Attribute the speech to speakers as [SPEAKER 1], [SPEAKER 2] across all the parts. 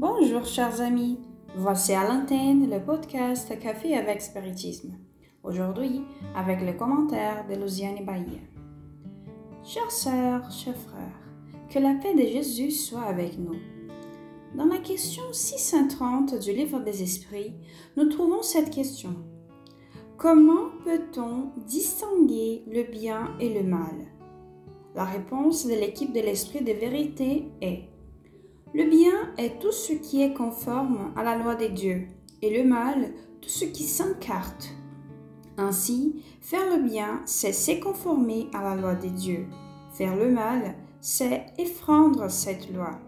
[SPEAKER 1] Bonjour chers amis, voici à l'antenne le podcast Café avec Spiritisme. Aujourd'hui, avec les commentaires de Luciane Bahia. Chères sœurs, chers frères, que la paix de Jésus soit avec nous. Dans la question 630 du livre des Esprits, nous trouvons cette question. Comment peut-on distinguer le bien et le mal? La réponse de l'équipe de l'Esprit de vérité est: le bien est tout ce qui est conforme à la loi de Dieu, et le mal, tout ce qui s'écarte. Ainsi, faire le bien, c'est se conformer à la loi de Dieu. Faire le mal, c'est enfreindre cette loi.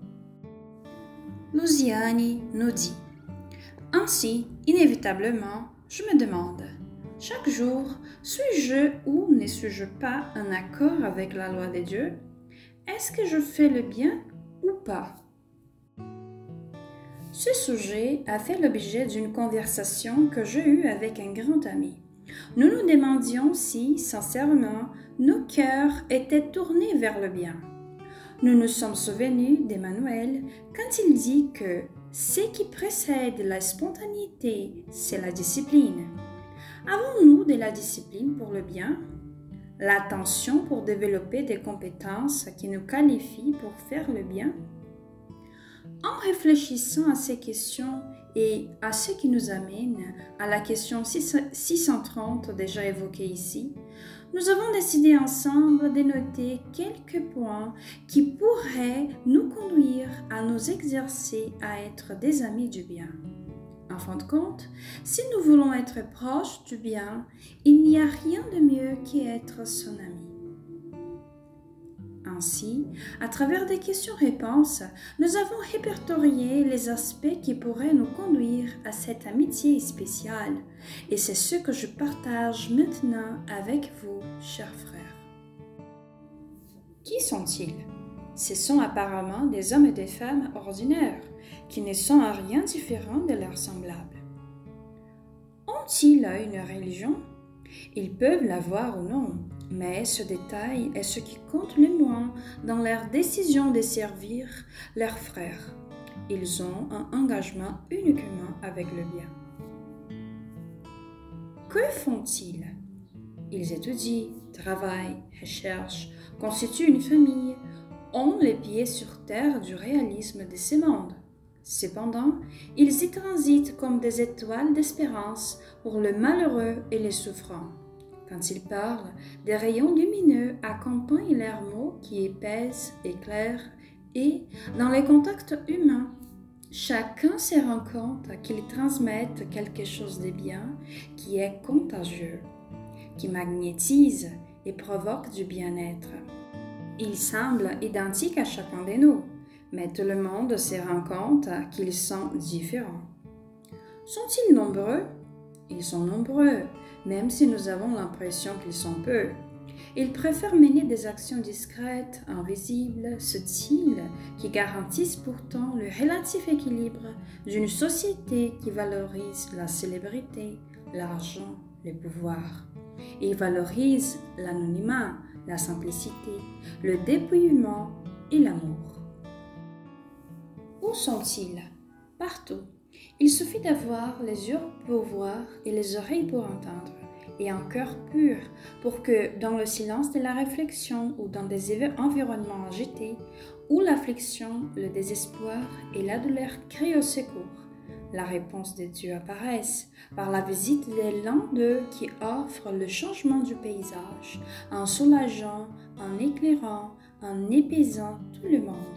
[SPEAKER 1] Luciane nous dit: ainsi, inévitablement, je me demande, chaque jour, suis-je ou ne suis-je pas en accord avec la loi de Dieu? Est-ce que je fais le bien ou pas? Ce sujet a fait l'objet d'une conversation que j'ai eue avec un grand ami. Nous nous demandions si, sincèrement, nos cœurs étaient tournés vers le bien. Nous nous sommes souvenus d'Emmanuel quand il dit que ce qui précède la spontanéité, c'est la discipline. Avons-nous de la discipline pour le bien? L'attention pour développer des compétences qui nous qualifient pour faire le bien? En réfléchissant à ces questions et à ce qui nous amène à la question 630 déjà évoquée ici, nous avons décidé ensemble de noter quelques points qui pourraient nous conduire à nous exercer à être des amis du bien. En fin de compte, si nous voulons être proches du bien, il n'y a rien de mieux qu'être son ami. Ainsi, à travers des questions-réponses, nous avons répertorié les aspects qui pourraient nous conduire à cette amitié spéciale, et c'est ce que je partage maintenant avec vous, chers frères. Qui sont-ils? Ce sont apparemment des hommes et des femmes ordinaires, qui ne sont en rien différents de leurs semblables. Ont-ils une religion? Ils peuvent l'avoir ou non, mais ce détail est ce qui compte le moins dans leur décision de servir leurs frères. Ils ont un engagement uniquement avec le bien. Que font-ils? Ils étudient, travaillent, recherchent, constituent une famille, ont les pieds sur terre du réalisme de ce monde. Cependant, ils y transitent comme des étoiles d'espérance pour le malheureux et les souffrants. Quand ils parlent, des rayons lumineux accompagnent leurs mots qui épaissent, éclairent, et, dans les contacts humains, chacun se rend compte qu'ils transmettent quelque chose de bien qui est contagieux, qui magnétise et provoque du bien-être. Ils semblent identiques à chacun de nous, mais tout le monde se rend compte qu'ils sont différents. Sont-ils nombreux? Ils sont nombreux, même si nous avons l'impression qu'ils sont peu. Ils préfèrent mener des actions discrètes, invisibles, subtiles, qui garantissent pourtant le relatif équilibre d'une société qui valorise la célébrité, l'argent, le pouvoir. Ils valorisent l'anonymat, la simplicité, le dépouillement et l'amour. Où sont-ils? Partout. Il suffit d'avoir les yeux pour voir et les oreilles pour entendre, et un cœur pur pour que, dans le silence de la réflexion ou dans des environnements agités, où l'affliction, le désespoir et la douleur crient au secours, la réponse de Dieu apparaisse par la visite de l'un d'eux qui offre le changement du paysage, en soulageant, en éclairant, en épaisant tout le monde.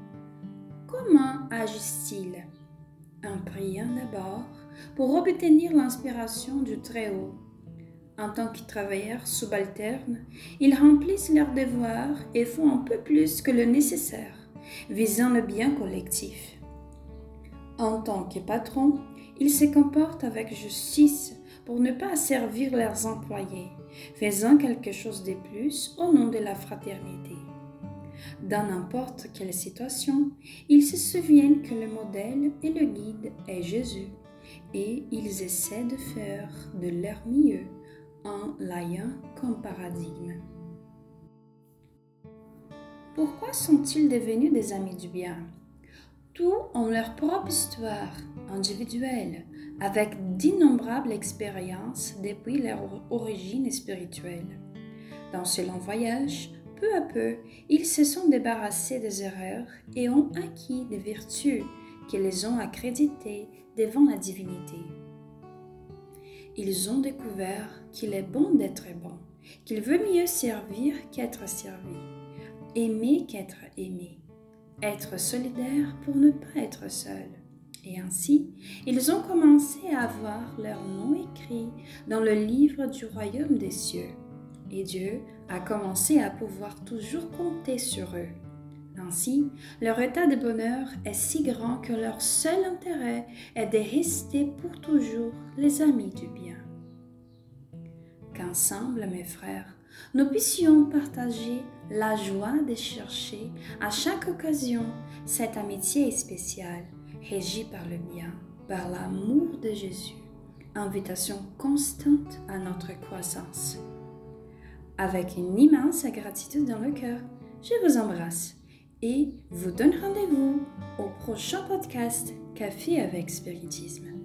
[SPEAKER 1] Comment agissent-ils? En priant d'abord pour obtenir l'inspiration du Très-Haut. En tant que travailleurs subalternes, ils remplissent leurs devoirs et font un peu plus que le nécessaire, visant le bien collectif. En tant que patrons, ils se comportent avec justice pour ne pas asservir leurs employés, faisant quelque chose de plus au nom de la fraternité. Dans n'importe quelle situation, ils se souviennent que le modèle et le guide est Jésus, et ils essaient de faire de leur mieux en l'ayant comme paradigme. Pourquoi sont-ils devenus des amis du bien? Tous ont leur propre histoire individuelle, avec d'innombrables expériences depuis leur origine spirituelle. Dans ce long voyage, peu à peu, ils se sont débarrassés des erreurs et ont acquis des vertus qui les ont accréditées devant la divinité. Ils ont découvert qu'il est bon d'être bon, qu'il veut mieux servir qu'être servi, aimer qu'être aimé, être solidaire pour ne pas être seul. Et ainsi, ils ont commencé à avoir leur nom écrit dans le livre du royaume des cieux. Et Dieu a commencé à pouvoir toujours compter sur eux. Ainsi, leur état de bonheur est si grand que leur seul intérêt est de rester pour toujours les amis du bien. Qu'ensemble, mes frères, nous puissions partager la joie de chercher à chaque occasion cette amitié spéciale, régie par le bien, par l'amour de Jésus, invitation constante à notre croissance. Avec une immense gratitude dans le cœur, je vous embrasse et vous donne rendez-vous au prochain podcast Café avec Spiritisme.